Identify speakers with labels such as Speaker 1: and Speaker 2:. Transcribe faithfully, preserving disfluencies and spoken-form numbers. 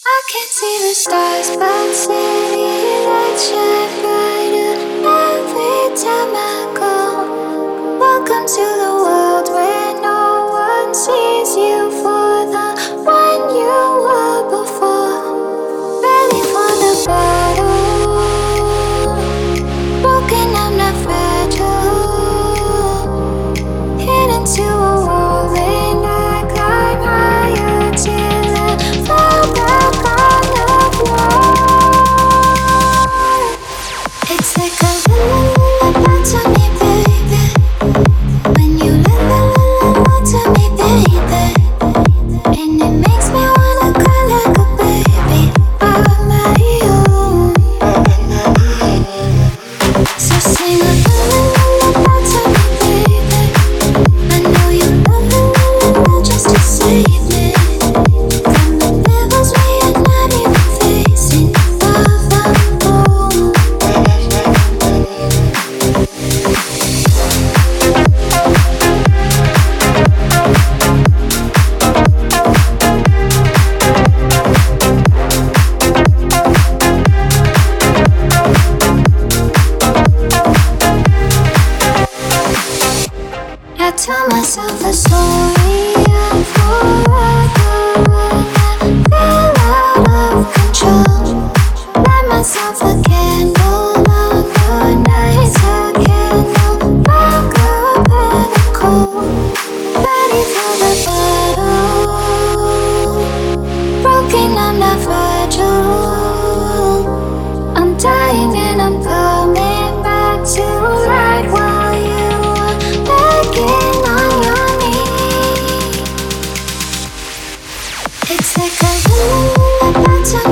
Speaker 1: I can't see the stars, but city lights shine brighter every time I go. Welcome to the world where no one sees you for the one you were before. Ready for the battle, broken, I'm not fragile. Hit into a wall and I climb higher till I fall back on the floor. It's like a lullaby to me, baby. When you la la la la to me, baby, and it makes me wanna cry like a baby. I'm not you, so sing a lullaby to me, baby. I know you la la la la just to save me from the levels we are not even facing. Love, I'm home. I tell myself a story of forever when I feel out of control. Light myself a candle on the nights I candle back up in the cold. Ready for the battle, broken, I'm not fragile. I'm dying and I'm coming back to life while you are begging on your knees. It's like a lullaby to